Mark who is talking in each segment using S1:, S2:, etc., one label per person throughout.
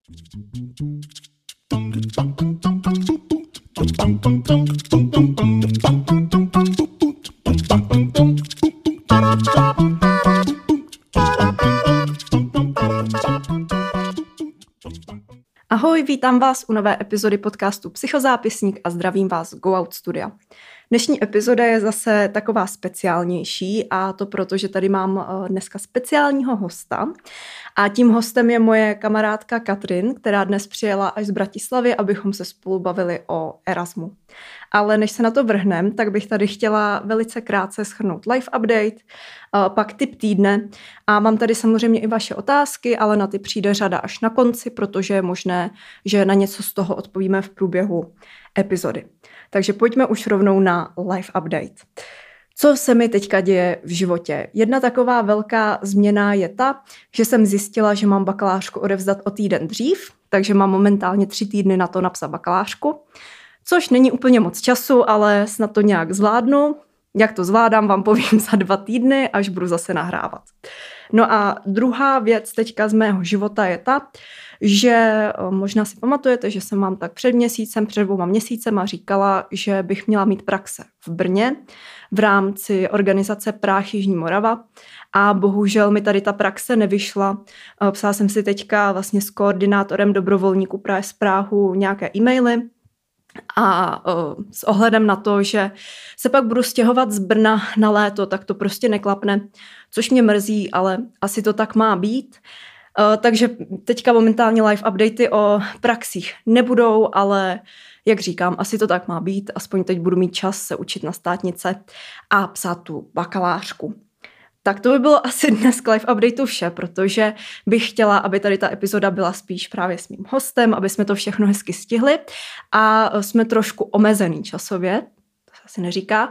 S1: Ahoj, vítám vás u nové epizody podcastu Psychozápisník a zdravím vás z Go Out Studia. Dnešní epizoda je zase taková speciálnější a to proto, že tady mám dneska speciálního hosta a tím hostem je moje kamarádka Katrin, která dnes přijela až z Bratislavy, abychom se spolu bavili o Erasmu. Ale než se na to vrhnem, tak bych tady chtěla velice krátce shrnout live update, pak tip týdne a mám tady samozřejmě i vaše otázky, ale na ty přijde řada až na konci, protože je možné, že na něco z toho odpovíme v průběhu epizody. Takže pojďme už rovnou na live update. Co se mi teďka děje v životě? Jedna taková velká změna je ta, že jsem zjistila, že mám bakalářku odevzdat o týden dřív, takže mám momentálně 3 týdny na to napsat bakalářku, což není úplně moc času, ale snad to nějak zvládnu. Jak to zvládám, vám povím za 2 týdny, až budu zase nahrávat. No a druhá věc teďka z mého života je ta, že možná si pamatujete, že jsem vám tak před 2 měsícema říkala, že bych měla mít praxe v Brně v rámci organizace Práh Jižní Morava a bohužel mi tady ta praxe nevyšla. Psala jsem si teďka vlastně s koordinátorem dobrovolníků právě z Prahu nějaké e-maily a s ohledem na to, že se pak budu stěhovat z Brna na léto, tak to prostě neklapne, což mě mrzí, ale asi to tak má být. Takže teďka momentálně live updaty o praxích nebudou, ale jak říkám, asi to tak má být, aspoň teď budu mít čas se učit na státnice a psát tu bakalářku. Tak to by bylo asi dnes k live updateu vše, protože bych chtěla, aby tady ta epizoda byla spíš právě s mým hostem, aby jsme to všechno hezky stihli a jsme trošku omezený časově, to se asi neříká.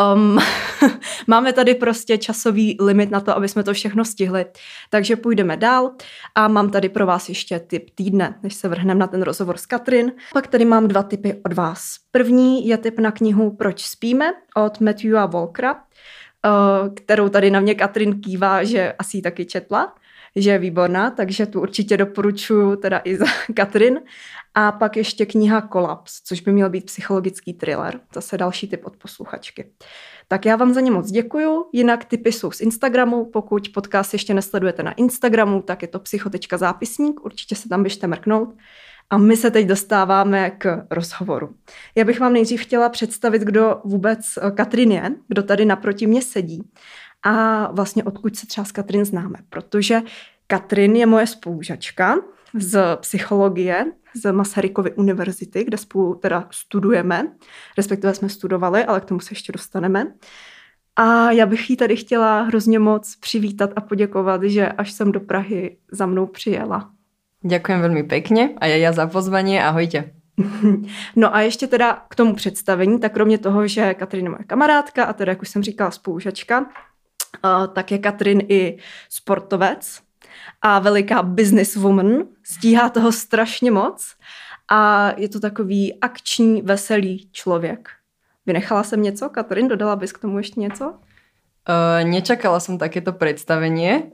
S1: Máme tady prostě časový limit na to, aby jsme to všechno stihli, takže půjdeme dál a mám tady pro vás ještě tip týdne, než se vrhneme na ten rozhovor s Katrin. Pak tady mám 2 tipy od vás. První je tip na knihu Proč spíme od Matthewa Walkera, kterou tady na mě Katrin kývá, že asi ji taky četla, že je výborná, takže tu určitě doporučuji teda i za Katrin. A pak ještě kniha Kolaps, což by měl být psychologický thriller. Zase další tip od posluchačky. Tak já vám za ně moc děkuju, jinak tipy jsou z Instagramu, pokud podcast ještě nesledujete na Instagramu, tak je to psycho.zápisník, určitě se tam běžte mrknout. A my se teď dostáváme k rozhovoru. Já bych vám nejdřív chtěla představit, kdo vůbec Katrin je, kdo tady naproti mě sedí a vlastně odkud se třeba s Katrin známe, protože Katrin je moje spolužačka z psychologie z Masarykovy univerzity, kde spolu teda studujeme, respektive jsme studovali, ale k tomu se ještě dostaneme. A já bych jí tady chtěla hrozně moc přivítat a poděkovat, že až sem do Prahy za mnou přijela.
S2: Ďakujem veľmi pekne a ja za pozvanie. Ahojte.
S1: No a ještě teda k tomu představení, tak kromě toho, že Katrin je moje kamarádka a teda, jak už jsem říkala, spolužačka, tak je Katrin i sportovec a veliká businesswoman. Stíhá toho strašně moc a je to takový akční, veselý člověk. Vynechala jsem něco, Katrin? Dodala bys k tomu ještě něco?
S2: Nečakala som takéto predstavenie.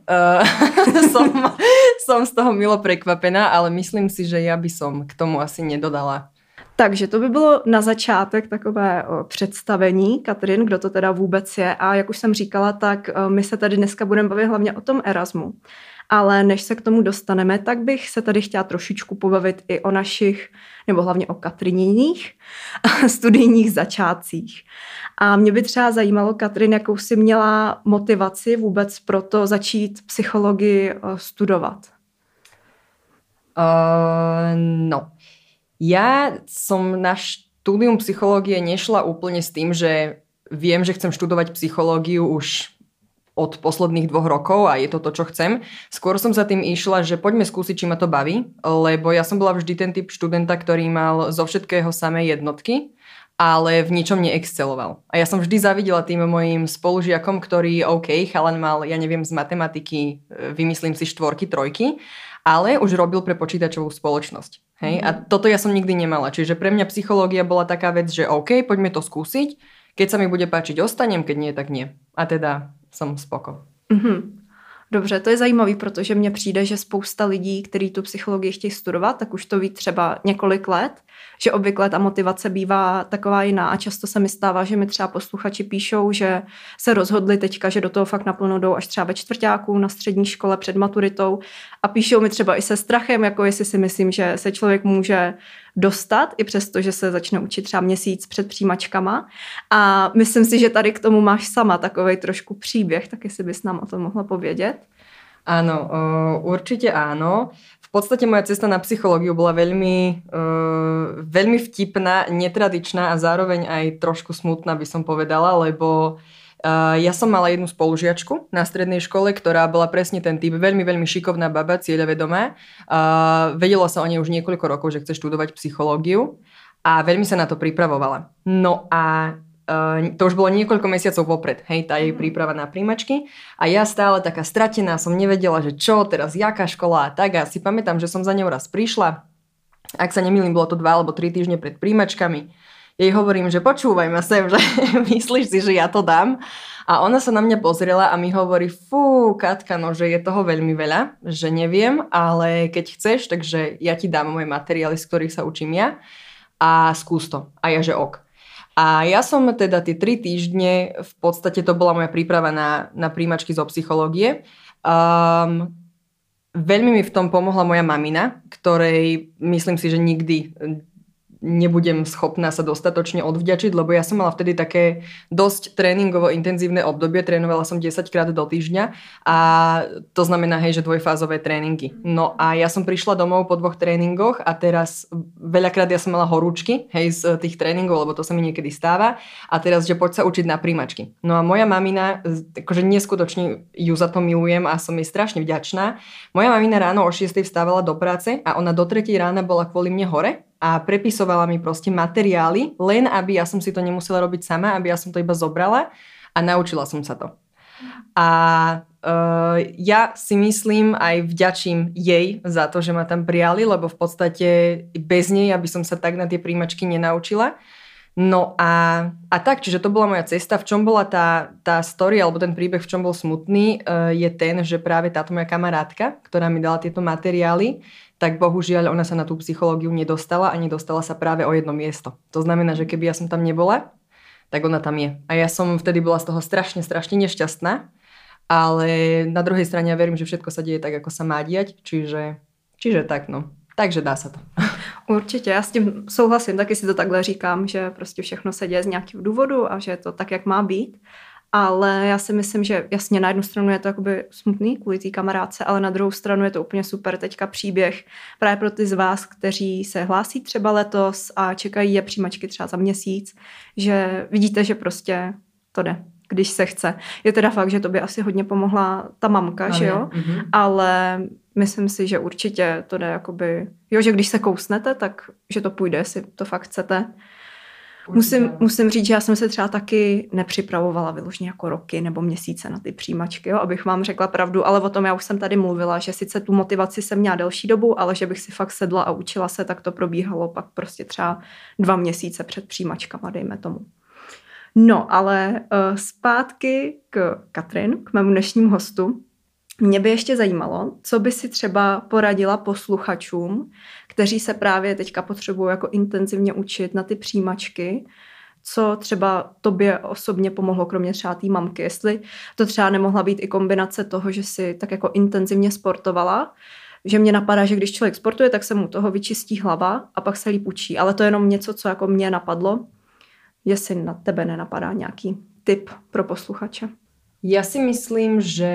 S2: Som z toho milo prekvapená, ale myslím si, že ja by som k tomu asi nedodala.
S1: Takže to by bylo na začátek takové představení Katrin, kdo to teda vůbec je. A jak už jsem říkala, tak my se tady dneska budeme bavit hlavně o tom Erasmu. Ale než se k tomu dostaneme, tak bych se tady chtěla trošičku pobavit i o našich, nebo hlavně o Katrininních studijních začátcích. A mě by třeba zajímalo, Katrin, jakou jsi měla motivaci vůbec pro to začít psychologii studovat?
S2: No, ja som na štúdium psychológie nešla úplne s tým, že viem, že chcem študovať psychológiu už od posledných 2 rokov a je to to, čo chcem. Skôr som za tým išla, že poďme skúsiť, či ma to baví, lebo ja som bola vždy ten typ študenta, ktorý mal zo všetkého samé jednotky, ale v ničom neexceloval. A ja som vždy zavidela tým mojim spolužiakom, ktorý chalan mal, ja neviem, z matematiky, vymyslím si 4, 3, ale už robil pre počítačovú spoločnosť. Hej? A toto ja som nikdy nemala. Čiže pre mňa psychológia bola taká vec, že poďme to skúsiť. Keď sa mi bude páčiť, ostanem, keď nie, tak nie. A teda som spoko.
S1: Mm-hmm. Dobře, to je zajímavý, protože mně přijde, že spousta lidí, kteří tu psychologii chtějí studovat, tak už to ví třeba několik let, že obvykle ta motivace bývá taková jiná a často se mi stává, že mi třeba posluchači píšou, že se rozhodli teďka, že do toho fakt naplno jdou až třeba ve čtvrťáku na střední škole před maturitou a píšou mi třeba i se strachem, jako jestli si myslím, že se člověk může dostat, i přesto, že se začne učit třeba měsíc před přijímačkama. A myslím si, že tady k tomu máš sama takovej trošku příběh, tak jestli bys nám o tom mohla povědět.
S2: Áno, určite áno. V podstate moja cesta na psychológiu bola veľmi vtipná, netradičná a zároveň aj trošku smutná, by som povedala, lebo ja som mala jednu spolužiačku na strednej škole, ktorá bola presne ten typ, veľmi, veľmi šikovná baba, cieľavedomá. Vedelo sa o nej už niekoľko rokov, že chce študovať psychológiu a veľmi sa na to pripravovala. No a to už bolo niekoľko mesiacov vopred, hej, tá jej príprava na príjmačky a ja stále taká stratená, som nevedela, že čo, teraz jaká škola a tak a si pamätám, že som za ňou raz prišla, ak sa nemýlim, bolo to 2 alebo 3 týždne pred príjmačkami, jej hovorím, že počúvaj ma sem, že myslíš si, že ja to dám a ona sa na mňa pozrela a mi hovorí, fú, Katka, no, že je toho veľmi veľa, že neviem, ale keď chceš, takže ja ti dám moje materiály, z ktorých sa učím ja a skús to. A ja, že ok. A ja som teda tie 3 týždne, v podstate to bola moja príprava na príjmačky zo psychológie. Veľmi mi v tom pomohla moja mamina, ktorej myslím si, že nikdy nebudem schopná sa dostatočne odvďačiť, lebo ja som mala vtedy také dosť tréningovo intenzívne obdobie, trénovala som 10 krát do týždňa a to znamená, hej, že dvojfázové tréningy. No a ja som prišla domov po 2 tréningoch a teraz veľakrát ja som mala horúčky, hej, z tých tréningov, lebo to sa mi niekedy stáva a teraz, že poď sa učiť na príjmačky. No a moja mamina, akože neskutočne ju za to milujem a som jej strašne vďačná. Moja mamina ráno o 6 vstávala do práce a ona do 3 rána bola kvôli mne hore a prepisovala mi proste materiály, len aby ja som si to nemusela robiť sama, aby ja som to iba zobrala a naučila som sa to. A ja si myslím aj vďačím jej za to, že ma tam prijali, lebo v podstate bez nej aby som sa tak na tie príjmačky nenaučila. No a tak, čiže to bola moja cesta. V čom bola tá story, alebo ten príbeh, v čom bol smutný, je ten, že práve táto moja kamarátka, ktorá mi dala tieto materiály, tak bohužiaľ ona sa na tú psychológiu nedostala a nedostala sa práve o jedno miesto. To znamená, že keby ja som tam nebola, tak ona tam je. A ja som vtedy bola z toho strašne nešťastná, ale na druhej strane ja verím, že všetko sa deje tak, ako sa má diať, čiže tak, no. Takže dá se to.
S1: Určitě, já s tím souhlasím, taky si to takhle říkám, že prostě všechno se děje z nějakého důvodu a že je to tak, jak má být. Ale já si myslím, že jasně na jednu stranu je to jakoby smutný kvůli té kamarádce, ale na druhou stranu je to úplně super teďka příběh právě pro ty z vás, kteří se hlásí třeba letos a čekají je přijímačky třeba za měsíc, že vidíte, že prostě to jde, když se chce. Je teda fakt, že to by asi hodně pomohla ta mamka, že jo? Mm-hmm. Ale myslím si, že určitě to jde jakoby, jo, že když se kousnete, tak že to půjde, jestli to fakt chcete. Musím říct, že já jsem se třeba taky nepřipravovala vyloženě jako roky nebo měsíce na ty přijímačky, jo, abych vám řekla pravdu, ale o tom já už jsem tady mluvila, že sice tu motivaci jsem měla delší dobu, ale že bych si fakt sedla a učila se, tak to probíhalo pak prostě třeba 2 měsíce před přijímačkama, dejme tomu. No, ale zpátky k Katrin, k mému dnešnímu hostu. Mě by ještě zajímalo, co by si třeba poradila posluchačům, kteří se právě teďka potřebují jako intenzivně učit na ty přijímačky, co třeba tobě osobně pomohlo, kromě třeba té mamky, jestli to třeba nemohla být i kombinace toho, že si tak jako intenzivně sportovala, že mě napadá, že když člověk sportuje, tak se mu toho vyčistí hlava a pak se líp učí, ale to je jenom něco, co jako mě napadlo, jestli na tebe nenapadá nějaký tip pro posluchače.
S2: Ja si myslím, že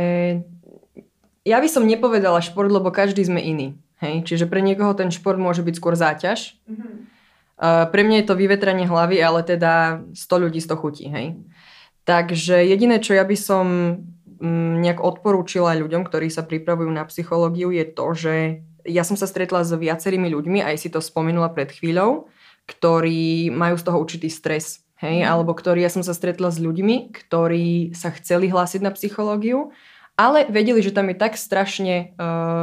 S2: ja by som nepovedala šport, lebo každý sme iný. Hej? Čiže pre niekoho ten šport môže byť skôr záťaž. Mm-hmm. Pre mňa je to vyvetranie hlavy, ale teda 100 ľudí 100 chutí. Hej? Takže jediné, čo ja by som nejak odporúčila ľuďom, ktorí sa pripravujú na psychológiu, je to, že ja som sa stretla s viacerými ľuďmi, aj si to spomenula pred chvíľou, ktorí majú z toho určitý stres. Hej? Alebo ja som sa stretla s ľuďmi, ktorí sa chceli hlásiť na psychológiu, ale vedeli, že tam je tak strašne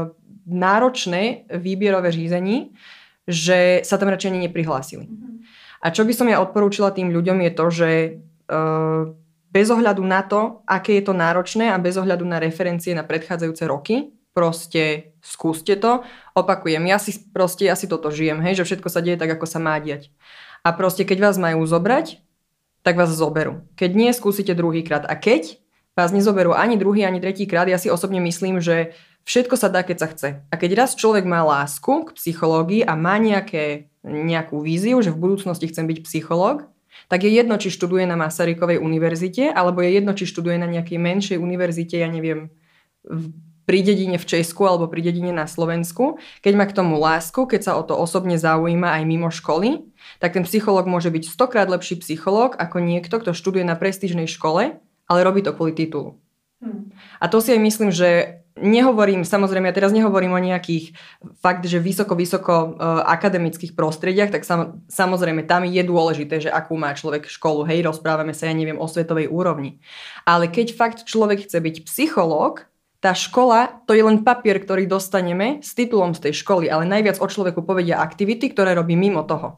S2: náročné výbierové řízení, že sa tam radšej ani neprihlásili. A čo by som ja odporúčila tým ľuďom je to, že bez ohľadu na to, aké je to náročné a bez ohľadu na referencie na predchádzajúce roky, proste skúste to. Opakujem, ja si toto žijem, hej, že všetko sa deje tak, ako sa má diať. A proste, keď vás majú zobrať, tak vás zoberú. Keď nie, skúsite druhýkrát. A keď vás nezoberú ani druhý, ani tretíkrát, ja si osobne myslím, že všetko sa dá, keď sa chce. A keď raz človek má lásku k psychológii a má nejakú víziu, že v budúcnosti chcem byť psychológ, tak je jedno, či študuje na Masarykovej univerzite, alebo je jedno, či študuje na nejakej menšej univerzite, ja neviem, pri dedine v Česku alebo pri dedine na Slovensku. Keď má k tomu lásku, keď sa o to osobne zaujíma aj mimo školy, tak ten psychológ môže byť 100-krát lepší psychológ ako niekto, kto študuje na prestížnej škole, ale robí to kvôli titulu. A to si aj myslím, že nehovorím, samozrejme, ja teraz nehovorím o nejakých fakt, že vysoko akademických prostrediach, tak samozrejme tam je dôležité, že akú má človek školu, hej, rozprávame sa, ja neviem, o svetovej úrovni. Ale keď fakt človek chce byť psychológ, tá škola, to je len papier, ktorý dostaneme s titulom z tej školy, ale najviac o človeku povedia aktivity, ktoré robí mimo toho.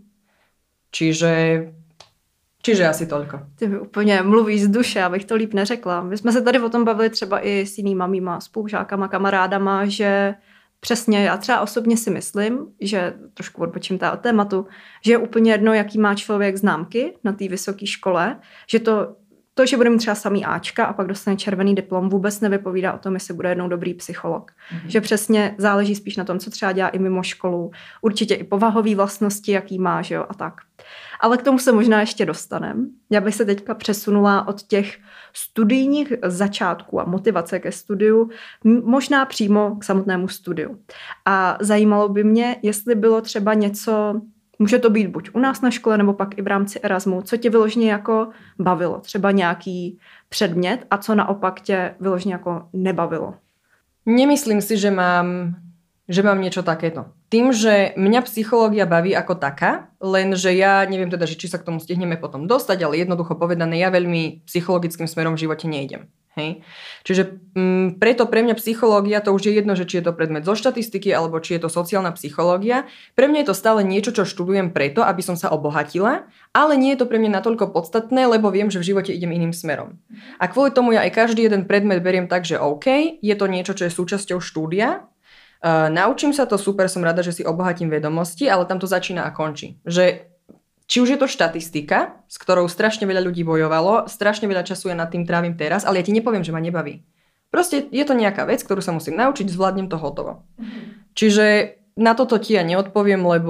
S2: Čiže asi toľko.
S1: Ty mi úplně mluvíš z duše, abych to líp neřekla. My jsme se tady o tom bavili třeba i s jinýma mýma spolužákama, kamarádama, že přesně já třeba osobně si myslím, že trošku odbočím od tématu, že je úplně jedno, jaký má člověk známky na té vysoké škole, že to, že bude mít třeba samý Ačka a pak dostane červený diplom, vůbec nevypovídá o tom, jestli bude jednou dobrý psycholog. Že přesně záleží spíš na tom, co třeba dělá i mimo školu. Určitě i povahové vlastnosti, jaký má, že jo, a tak. Ale k tomu se možná ještě dostaneme. Já bych se teďka přesunula od těch studijních začátků a motivace ke studiu možná přímo k samotnému studiu. A zajímalo by mě, jestli bylo třeba něco, může to být buď u nás na škole, nebo pak i v rámci Erasmu, co tě vyloženě jako bavilo, třeba nějaký předmět a co naopak tě vyloženě jako nebavilo.
S2: Nemyslím si, že mám niečo takéto. Tým, že mňa psychológia baví ako taká, lenže ja neviem teda, že či sa k tomu stihneme potom dostať, ale jednoducho povedané, ja veľmi psychologickým smerom v živote nejdem. Hej? Čiže preto pre mňa psychológia, to už je jedno, že či je to predmet zo štatistiky, alebo či je to sociálna psychológia. Pre mňa je to stále niečo, čo študujem preto, aby som sa obohatila, ale nie je to pre mňa natoľko podstatné, lebo viem, že v živote idem iným smerom. A kvôli tomu ja aj každý jeden predmet beriem tak, že OK, je to niečo, čo je súčasťou štúdia. Naučím sa to, super, som rada, že si obohatím vedomosti, ale tam to začína a končí. Že či už je to štatistika, s ktorou strašne veľa ľudí bojovalo, strašne veľa času ja nad tým trávim teraz, ale ja ti nepoviem, že ma nebaví. Proste je to nejaká vec, ktorú sa musím naučiť, zvládnem to hotovo. Čiže na toto ti ja neodpoviem, lebo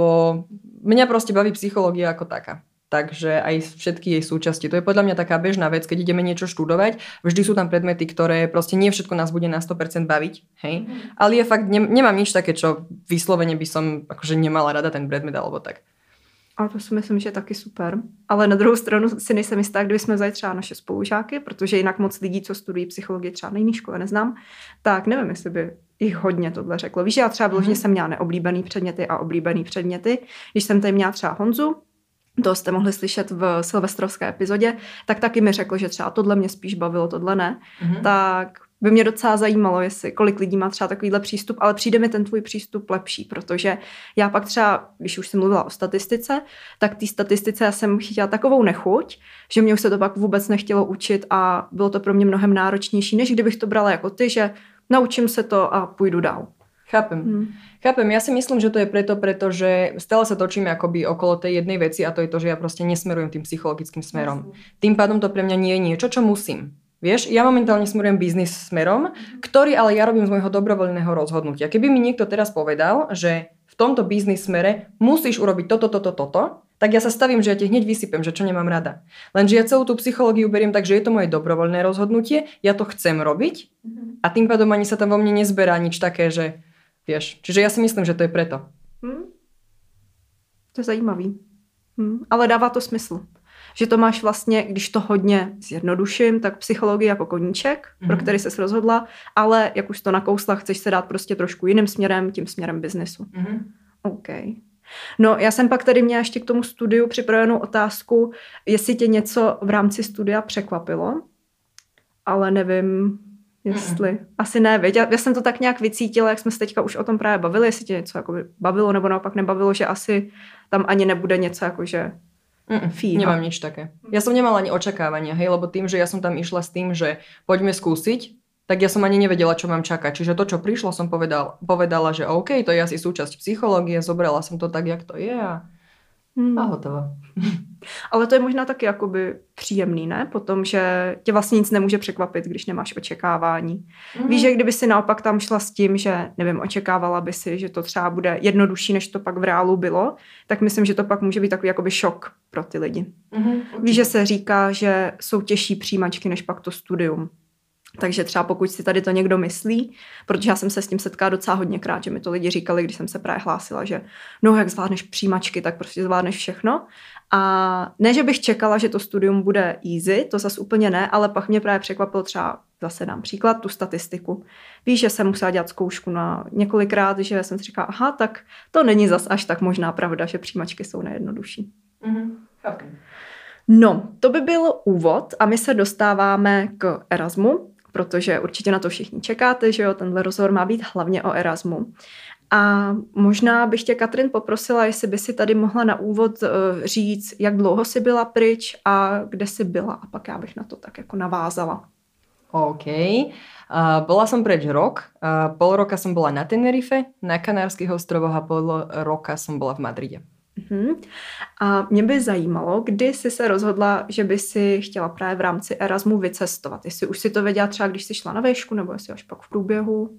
S2: mňa proste baví psychológia ako taká. Takže aj všetky jej súčasti. To je podľa mňa taká bežná vec, keď ideme niečo študovať. Vždy sú tam predmety, ktoré proste nie všetko nás bude na 100% baviť. Hej? Ale ja fakt nemám nič také, čo vyslovene by som akože nemala rada ten predmet alebo tak.
S1: Ale to si myslím, že je taky super. Ale na druhou stranu si nejsem jistá, kdyby jsme vzali třeba naše spolužáky, protože jinak moc lidí, co studují psychologii třeba na jiné škole, neznám, tak nevím, jestli by jich hodně tohle řeklo. Víš, já třeba vyloženě jsem měla neoblíbený předměty a oblíbený předměty. Když jsem tady měla třeba Honzu, to jste mohli slyšet v silvestrovské epizodě, tak taky mi řekl, že třeba tohle mě spíš bavilo, tohle ne. Tak by mě docela zajímalo, jestli kolik lidí má třeba takovýhle přístup, ale přijde mi ten tvůj přístup lepší, protože já pak třeba, když už jsem mluvila o statistice, tak té statistice já jsem chytila takovou nechuť, že mě už se to pak vůbec nechtělo učit a bylo to pro mě mnohem náročnější, než kdybych to brala jako ty, že naučím se to a půjdu dál.
S2: Chápem. Ja si myslím, že to je pretože stále sa točíme akoby okolo tej jednej veci a to je to, že ja proste nesmerujem tým psychologickým smerom. Tým pádom to pre mňa nie je niečo, čo musím. Vieš, ja momentálne smerujem biznis smerom, ktorý ale ja robím z môjho dobrovoľného rozhodnutia. Keby mi niekto teraz povedal, že v tomto biznis smere musíš urobiť toto, tak ja sa stavím, že ja ti hneď vysypem, že čo nemám rada. Lenže ja celú tú psychológiu beriem tak, že je to moje dobrovoľné rozhodnutie, ja to chcem robiť a tým pádom ani sa tam vo mne nezberá nič také, že vieš. Čiže ja si myslím, že to je preto.
S1: To je zajímavý. Ale dává to smysl. Že to máš vlastně, když to hodně zjednoduším, tak psychologii jako koníček, pro který ses rozhodla, ale jak už to nakousla, chceš se dát prostě trošku jiným směrem, tím směrem biznesu. OK. No, já jsem pak tady měla ještě k tomu studiu připravenou otázku, jestli tě něco v rámci studia překvapilo, ale nevím, jestli. Asi ne, viď? Já jsem to tak nějak vycítila, jak jsme se teďka už o tom právě bavili, jestli tě něco jako bavilo nebo naopak nebavilo, že asi tam ani nebude něco jako, že Fíha.
S2: Nemám nič také. Ja som nemala ani očakávania, hej, lebo tým, že ja som tam išla s tým, že poďme skúsiť, tak ja som ani nevedela, čo mám čakať. Čiže to, čo prišlo, som povedala, že OK, to je asi súčasť psychológie, zobrala som to tak, jak to je a hotovo.
S1: Ale to je možná taky jakoby příjemný, ne? Potom, že tě vlastně nic nemůže překvapit, když nemáš očekávání. Víš, že kdyby si naopak tam šla s tím, že nevím, očekávala by si, že to třeba bude jednodušší, než to pak v reálu bylo, tak myslím, že to pak může být takový jakoby šok pro ty lidi. Víš, že se říká, že jsou těžší přijímačky, než pak to studium. Takže třeba pokud si tady to někdo myslí, protože já jsem se s tím setkala docela hodněkrát, že mi to lidi říkali, když jsem se právě hlásila, že no, jak zvládneš přijímačky, tak prostě zvládneš všechno. A ne, že bych čekala, že to studium bude easy, to zas úplně ne, ale pak mě právě překvapilo třeba, zase dám příklad, tu statistiku. Víš, že jsem musela dělat zkoušku na několikrát, že jsem si říkala, aha, tak to není zas až tak možná pravda, že přijímačky jsou nejjednodušší.
S2: Okay.
S1: No, to by byl úvod a my se dostáváme k Erasmu, protože určitě na to všichni čekáte, že jo, tenhle rozhovor má být hlavně o Erasmu. A možná bych tě, Katrin, poprosila, jestli by si tady mohla na úvod říct, jak dlouho jsi byla pryč a kde jsi byla a pak já bych na to tak jako navázala.
S2: OK. Bola som preč rok. Pol roka som bola na Tenerife, na Kanárskych ostrovoch a pol roka som bola v Madride.
S1: A mě by zajímalo, kdy jsi se rozhodla, že by si chtěla právě v rámci Erasmu vycestovat. Jestli už si to věděla třeba, když jsi šla na výšku, nebo jestli až pak v průběhu.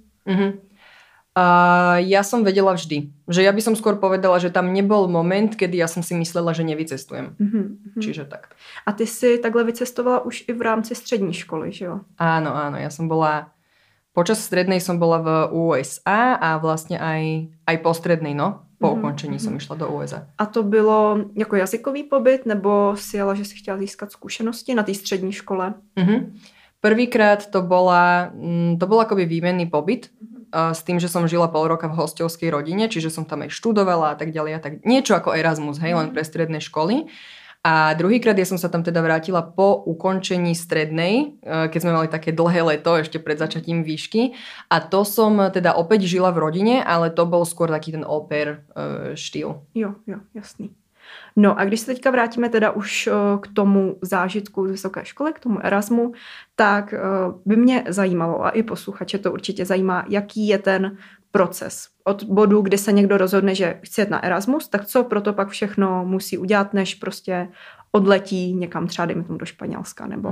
S2: Ja som vedela vždy, že ja by som skôr povedala, že tam nebol moment, kedy ja som si myslela, že nevycestujem. Čiže tak.
S1: A ty si takhle vycestovala už i v rámci střední školy, že jo?
S2: Áno, ja som bola, počas strednej som bola v USA a vlastne aj po strednej, no. Po ukončení som išla do USA.
S1: A to bylo jako jazykový pobyt, nebo si jela, že si chtěla získat zkušenosti na té střední škole?
S2: Prvýkrát to bol akoby výmenný pobyt s tým, že som žila pol roka v hostovskej rodine, čiže som tam aj študovala a tak ďalej a tak. Niečo ako Erasmus, hej, len pre stredné školy. A druhýkrát ja som sa tam teda vrátila po ukončení strednej, keď sme mali také dlhé leto ešte pred začatím výšky. A to som teda opäť žila v rodine, ale to bol skôr taký ten au pair štýl.
S1: Jo, jasný. No a když se teďka vrátíme teda už k tomu zážitku z vysoké školy, k tomu Erasmu, tak by mě zajímalo, a i posluchače to určitě zajímá, jaký je ten proces. Od bodu, kdy se někdo rozhodne, že chce jet na Erasmus, tak co proto pak všechno musí udělat, než prostě odletí někam třeba, dejme tomu do Španělska, nebo...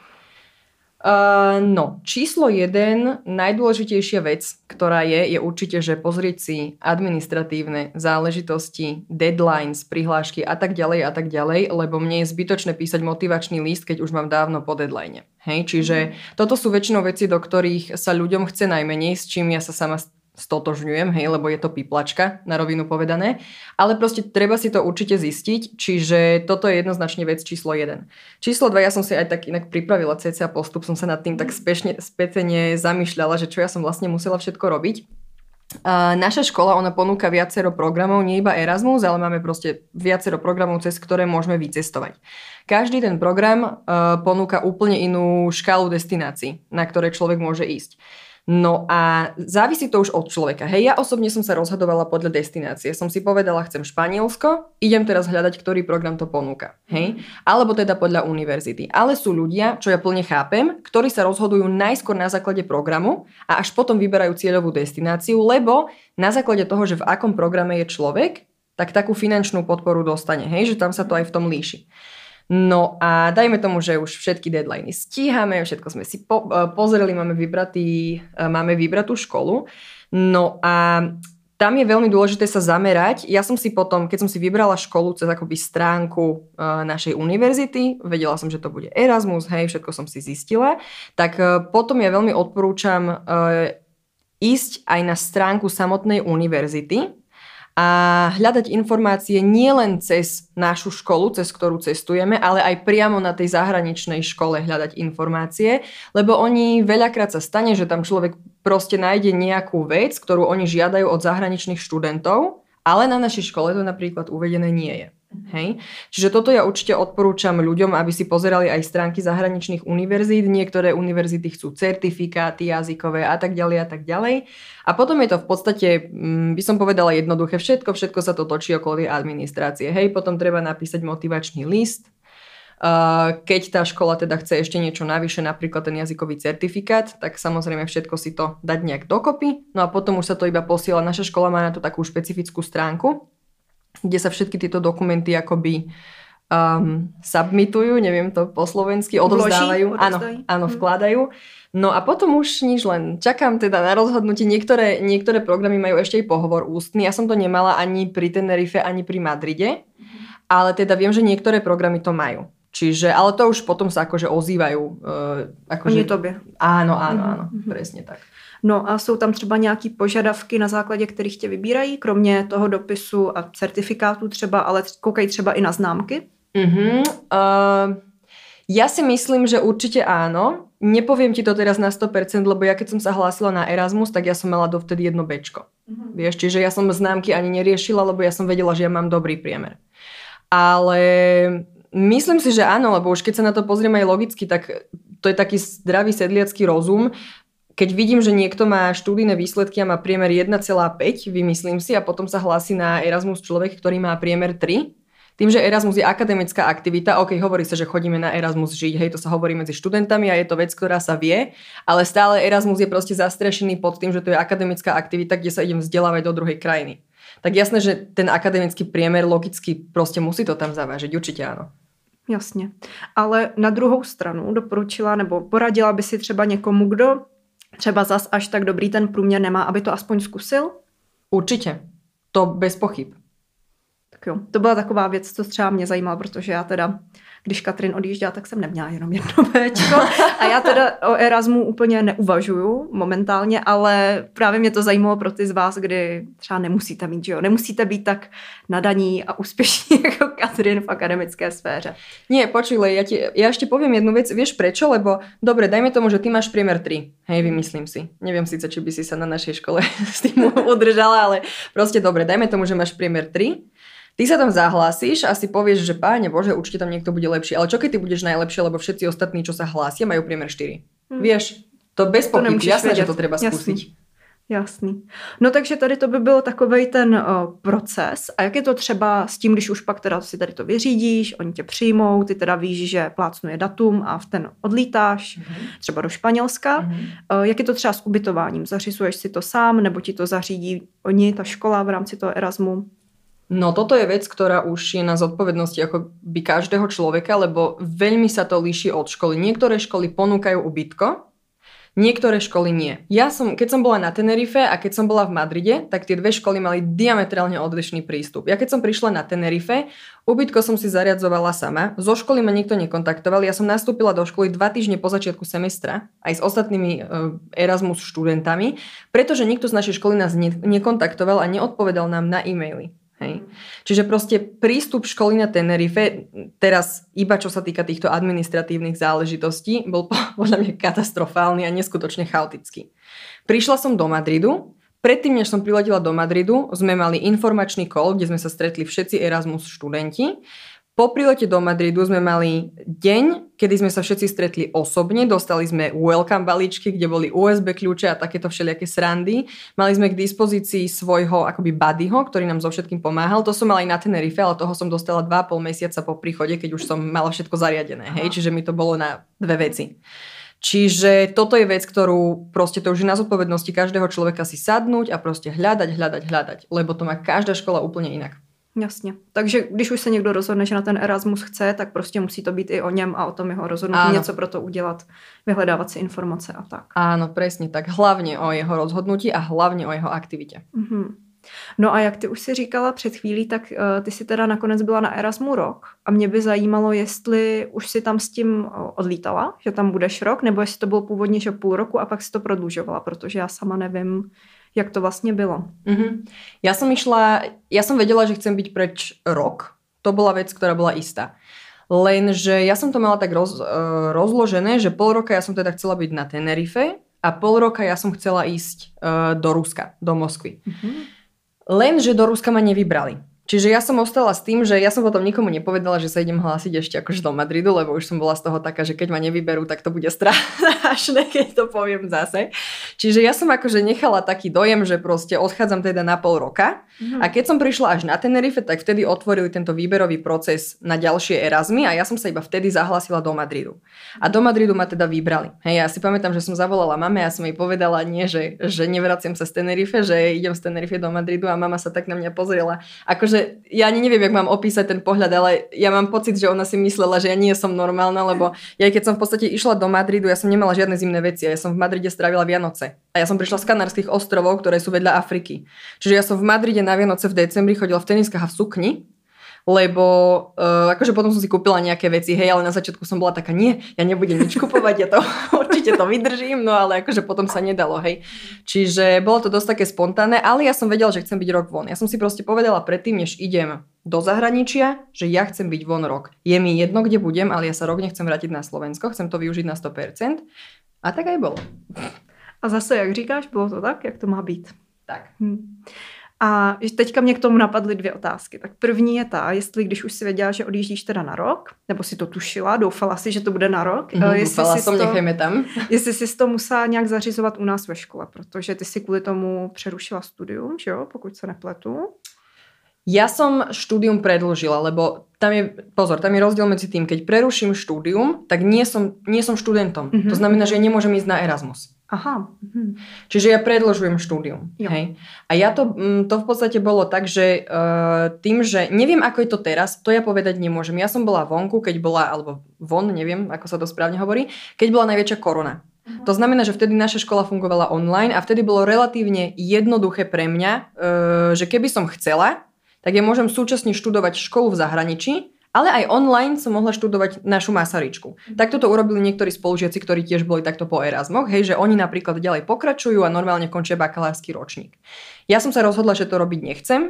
S2: No, číslo 1, najdôležitejšia vec, ktorá je určite, že pozrieť si administratívne záležitosti, deadlines, prihlášky a tak ďalej, lebo mne je zbytočné písať motivačný list, keď už mám dávno po deadline. Hej, čiže toto sú väčšinou veci, do ktorých sa ľuďom chce najmenej, s čím ja sa sama stotožňujem, hej, lebo je to píplačka, na rovinu povedané, ale proste treba si to určite zistiť, čiže toto je jednoznačne vec číslo 1. Číslo 2, ja som si aj tak inak pripravila cca postup, som sa nad tým tak spätne zamýšľala, že čo ja som vlastne musela všetko robiť. Naša škola, ona ponúka viacero programov, nie iba Erasmus, ale máme proste viacero programov, cez ktoré môžeme vycestovať. Každý ten program ponúka úplne inú škálu destinácií, na ktoré človek môže ísť. No a závisí to už od človeka. Hej, ja osobne som sa rozhodovala podľa destinácie. Som si povedala, chcem Španielsko, idem teraz hľadať, ktorý program to ponúka. Hej? Alebo teda podľa univerzity. Ale sú ľudia, čo ja plne chápem, ktorí sa rozhodujú najskôr na základe programu a až potom vyberajú cieľovú destináciu, lebo na základe toho, že v akom programe je človek, tak takú finančnú podporu dostane. Hej, že tam sa to aj v tom líši. No a dajme tomu, že už všetky deadliny stíhame, všetko sme si pozreli, máme vybratú školu. No a tam je veľmi dôležité sa zamerať. Ja som si potom, keď som si vybrala školu cez akoby stránku našej univerzity, vedela som, že to bude Erasmus, hej, všetko som si zistila, tak potom ja veľmi odporúčam ísť aj na stránku samotnej univerzity a hľadať informácie nielen cez našu školu, cez ktorú cestujeme, ale aj priamo na tej zahraničnej škole hľadať informácie, lebo oni veľakrát sa stane, že tam človek proste nájde nejakú vec, ktorú oni žiadajú od zahraničných študentov, ale na našej škole to napríklad uvedené nie je. Hej? Čiže toto ja určite odporúčam ľuďom, aby si pozerali aj stránky zahraničných univerzít. Niektoré univerzity chcú certifikáty jazykové a tak ďalej a tak ďalej. A potom je to v podstate, by som povedala jednoduché, všetko sa to točí okolo tej administrácie. Hej, potom treba napísať motivačný list. Keď tá škola teda chce ešte niečo navyše, napríklad ten jazykový certifikát, tak samozrejme všetko si to dať nejak dokopy. No a potom už sa to iba posiela. Naša škola má na to takú špecifickú stránku, kde sa všetky tieto dokumenty akoby submitujú, neviem to po slovensky, odovzdávajú. Áno, vkladajú. No a potom už nič, len čakám teda na rozhodnutie. Niektoré programy majú ešte aj pohovor ústny. Ja som to nemala ani pri Tenerife, ani pri Madride, ale teda viem, že niektoré programy to majú. Čiže, ale to už potom sa akože ozývajú.
S1: Oni tobě.
S2: Áno, presne tak.
S1: No a jsou tam třeba nějaký požadavky, na základě kterých tě vybírají, kromě toho dopisu a certifikátu třeba, ale koukají třeba i na známky?
S2: Ja si myslím, že určite áno. Nepoviem ti to teraz na 100%, lebo ja keď som sa hlásila na Erasmus, tak ja som mala dovtedy 1 Bčko. Vieš, čiže ja som známky ani neriešila, lebo ja som vedela, že ja mám dobrý priemer. Ale myslím si, že áno, lebo už keď sa na to pozriem aj logicky, tak to je taký zdravý sedliacky rozum. Keď vidím, že niekto má študijné výsledky a má priemer 1,5, vymyslím si, a potom sa hlási na Erasmus človek, ktorý má priemer 3, tým, že Erasmus je akademická aktivita, hovorí sa, že chodíme na Erasmus žiť, hej, to sa hovorí medzi študentami a je to vec, ktorá sa vie, ale stále Erasmus je proste zastrešený pod tým, že to je akademická aktivita, kde sa idem vzdelávať do druhej krajiny. Tak jasné, že ten akademický priemer logicky proste musí to tam zavážiť, určite áno.
S1: Jasně. Ale na druhou stranu doporučila nebo poradila by si třeba někomu, kdo třeba zas až tak dobrý ten průměr nemá, aby to aspoň zkusil?
S2: Určitě. To bez pochyb.
S1: Tak jo, to byla taková věc, co třeba mě zajímala, protože já teda, když Katrin odjížděla, tak jsem neměla jenom 1 Bčko. A já teda o Erasmu úplně neuvažuju momentálně, ale právě mě to zajímalo pro ty z vás, kdy třeba nemusíte mít, že jo? Nemusíte být tak nadaní a úspěšní jako Katrin v akademické sféře.
S2: Nie, počuj, ja ešte poviem jednu vec. Vieš prečo? Lebo dobre, dajme tomu, že ty máš priemer 3. Hej, vymyslím si. Neviem síce, či by si sa na našej škole s tým udržala, ale proste dobre, dajme tomu, že máš priemer 3. Ty sa tam zahlásíš a si povieš, že Páne Bože, určite tam niekto bude lepší. Ale čo keď ty budeš najlepšie, lebo všetci ostatní, čo sa hlásia, majú priemer 4. Vieš, to bez pochyb, jasné, že to treba skúsiť.
S1: Jasný. No takže tady to by byl takovej ten proces. A jak je to třeba s tím, když už pak teda si tady to vyřídíš, oni tě přijmou, ty teda víš, že plácnuje datum a v ten odlítáš třeba do Španělska. Jak je to třeba s ubytováním? Zařizuješ si to sám, nebo ti to zařídí oni, ta škola v rámci toho Erasmu?
S2: No toto je vec, ktorá už je na zodpovednosti akoby každého človeka, lebo veľmi sa to líši od školy. Niektoré školy ponúkajú ubytko, niektoré školy nie. Keď som bola na Tenerife a keď som bola v Madride, tak tie 2 školy mali diametrálne odlišný prístup. Ja keď som prišla na Tenerife, ubytko som si zariadzovala sama, zo školy ma nikto nekontaktoval, ja som nastúpila do školy 2 týždne po začiatku semestra, aj s ostatnými Erasmus študentami, pretože nikto z našej školy nás nekontaktoval a neodpovedal nám na e-maily. Hej. Čiže proste prístup školy na Tenerife, teraz iba čo sa týka týchto administratívnych záležitostí, bol podľa mňa katastrofálny a neskutočne chaotický. Prišla som do Madridu, predtým, než som priletela do Madridu, sme mali informačný call, kde sme sa stretli všetci Erasmus študenti. Po prilete do Madridu sme mali deň, kedy sme sa všetci stretli osobne, dostali sme welcome balíčky, kde boli USB kľúče a takéto všelijaké srandy. Mali sme k dispozícii svojho akoby buddyho, ktorý nám so všetkým pomáhal. To som mala aj na Tenerife, ale toho som dostala 2,5 mesiaca po príchode, keď už som mala všetko zariadené. Hej? Čiže mi to bolo na 2 veci. Čiže toto je vec, ktorú proste to už je na zodpovednosti každého človeka si sadnúť a proste hľadať, lebo to má každá škola úplne inak.
S1: Jasně. Takže když už se někdo rozhodne, že na ten Erasmus chce, tak prostě musí to být i o něm a o tom jeho rozhodnutí, něco pro to udělat, vyhledávat si informace a tak.
S2: Áno, presne tak. Hlavně o jeho rozhodnutí a hlavně o jeho aktivitě.
S1: No a jak ty už si říkala před chvílí, tak ty si teda nakonec byla na Erasmu rok a mě by zajímalo, jestli už si tam s tím odlítala, že tam budeš rok, nebo jestli to bylo původně, že 0,5 roku a pak si to prodlužovala, protože já sama nevím, jak to vlastne bylo.
S2: Ja som vedela, že chcem byť preč rok. To bola vec, ktorá bola istá. Lenže ja som to mala tak rozložené, že 0,5 roka ja som teda chcela byť na Tenerife a 0,5 roka ja som chcela ísť do Ruska, do Moskvy. Lenže do Ruska ma nevybrali. Čiže ja som ostala s tým, že ja som potom nikomu nepovedala, že sa idem hlásiť ešte akože do Madridu, lebo už som bola z toho taká, že keď ma nevyberú, tak to bude strašné, keď to poviem zase. Čiže ja som akože nechala taký dojem, že proste odchádzam teda na pol roka. A keď som prišla až na Tenerife, tak vtedy otvorili tento výberový proces na ďalšie Erasmy a ja som sa iba vtedy zahlásila do Madridu. A do Madridu ma teda vybrali. Hej, ja si pamätám, že som zavolala mame a som jej povedala nie, že nevraciam sa z Tenerife, že idem z Tenerife do Madridu a mama sa tak na mňa pozrela. Akože ja ani neviem, jak mám opísať ten pohľad, ale ja mám pocit, že ona si myslela, že ja nie som normálna, lebo ja keď som v podstate išla do Madridu, ja som nemala žiadne zimné veci a ja som v Madride strávila Vianoce. A ja som prišla z Kanárskych ostrovov, ktoré sú vedľa Afriky. Čiže ja som v Madride na Vianoce v decembri chodila v teniskách a v sukni, lebo akože potom som si kúpila nejaké veci, hej, ale na začiatku som bola taká, nie, ja nebudem nič kupovať, ja to určite to vydržím, no ale akože potom sa nedalo, hej. Čiže bolo to dosť také spontánne, ale ja som vedela, že chcem byť rok von. Ja som si proste povedala predtým, než idem do zahraničia, že ja chcem byť von rok. Je mi jedno, kde budem, ale ja sa rok nechcem vrátiť na Slovensko, chcem to využiť na 100%. A tak aj bolo.
S1: A zase, jak říkáš, bylo to tak, jak to má být.
S2: Tak.
S1: A teďka mě k tomu napadly 2 otázky. Tak první je ta, jestli když už si věděla, že odjíždíš teda na rok, nebo si to tušila, doufala si, že to bude na rok.
S2: Doufala som, nechajme tam.
S1: Jestli si to musela nějak zařizovat u nás ve škole, protože ty si kvůli tomu přerušila studium, že jo, pokud se nepletu.
S2: Ja som štúdium predĺžila, lebo tam je rozdiel medzi tým, keď preruším štúdium, tak nie som študentom. To znamená, že ja nemôžem ísť na Erasmus.
S1: Aha.
S2: Čiže ja predĺžujem štúdium. Hej. A ja to v podstate bolo tak, že tým, že neviem, ako je to teraz, to ja povedať nemôžem. Ja som bola vonku, alebo von, neviem, ako sa to správne hovorí, keď bola najväčšia korona. To znamená, že vtedy naša škola fungovala online a vtedy bolo relatívne jednoduché pre mňa, že keby som chcela, tak ja môžem súčasne študovať školu v zahraničí, ale aj online som mohla študovať našu Masaryčku. Takto to urobili niektorí spolužiaci, ktorí tiež boli takto po Erasmoch, hej, že oni napríklad ďalej pokračujú a normálne končia bakalársky ročník. Ja som sa rozhodla, že to robiť nechcem.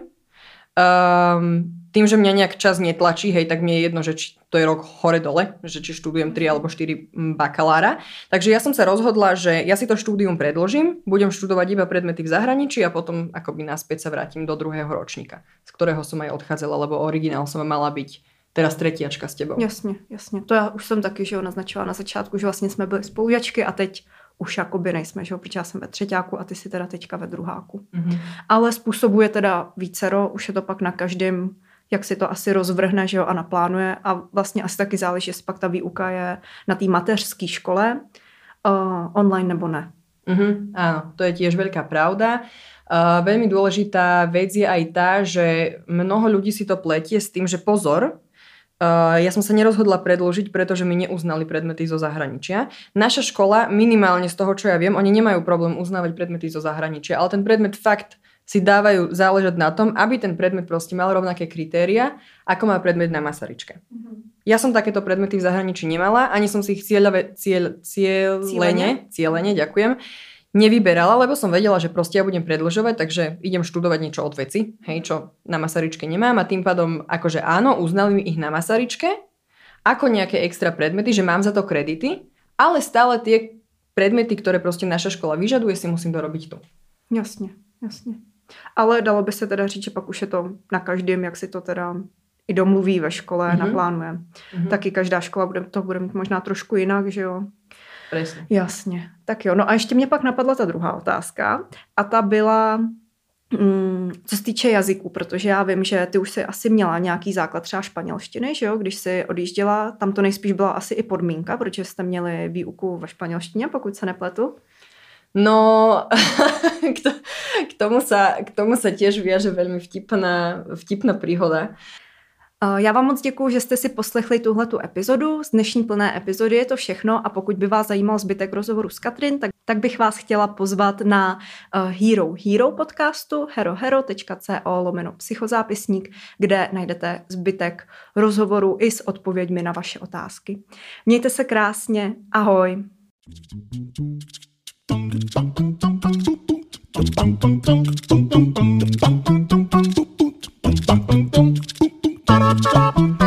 S2: Tým, že mňa nejak čas netlačí, hej, tak mne je jedno, že či to je rok hore-dole, že či študujem 3 alebo 4 bakalára. Takže ja som sa rozhodla, že ja si to štúdium predĺžim, budem študovať iba predmety v zahraničí a potom akoby naspäť sa vrátim do 2. ročníka, z ktorého som aj odchádzala, lebo originál som mala byť teraz tretiačka s tebou.
S1: Jasně. To já už jsem taky, že ho naznačila na začátku, že vlastně jsme byli spolužačky a teď už jakoby nejsme, že jo, protože já jsem ve třeťáku a ty si teda teďka ve druháku. Ale způsobuje teda vícero, už je to pak na každém, jak si to asi rozvrhne, že jo, a naplánuje a vlastně asi taky záleží, jestli pak ta výuka je na té mateřské škole online nebo ne.
S2: Áno, to je tiež veľká pravda. Veľmi dôležitá vec je aj tá, že mnoho ľudí si to pletie s tým, že pozor, ja som sa nerozhodla predĺžiť, pretože mi neuznali predmety zo zahraničia. Naša škola, minimálne z toho, čo ja viem, oni nemajú problém uznávať predmety zo zahraničia, ale ten predmet fakt si dávajú záležať na tom, aby ten predmet proste mal rovnaké kritéria, ako má predmet na Masaryčke. Ja som takéto predmety v zahraničí nemala, ani som si ich cieľene, ďakujem, nevyberala, lebo som vedela, že proste ja budem predĺžovať, takže idem študovať niečo od veci, hej, čo na Masaryčke nemám a tým pádom akože áno, uznali mi ich na Masaryčke ako nejaké extra predmety, že mám za to kredity, ale stále tie predmety, ktoré proste naša škola vyžaduje, si musím dorobiť tu.
S1: Jasně. Ale dalo by se teda říct, že pak už je to na každém, jak si to teda i domluví ve škole, naplánuje. Taky každá škola bude mít možná trošku jinak, že jo?
S2: Presne.
S1: Jasně. Tak jo, no a ještě mě pak napadla ta druhá otázka a ta byla, co se týče jazyků, protože já vím, že ty už si asi měla nějaký základ třeba španělštiny, že jo, když jsi odjížděla, tam to nejspíš byla asi i podmínka, protože jste měli výuku ve španělštině, pokud se nepletu.
S2: No, k tomu sa tiež viaže veľmi vtipná príhoda.
S1: Já vám moc děkuju, že jste si poslechli tuhletu epizodu. Z dnešní plné epizody je to všechno a pokud by vás zajímal zbytek rozhovoru s Katrin, tak bych vás chtěla pozvat na Hero podcastu herohero.co/psychozápisník, kde najdete zbytek rozhovoru i s odpověďmi na vaše otázky. Mějte se krásně, ahoj. Ba-da-ba-ba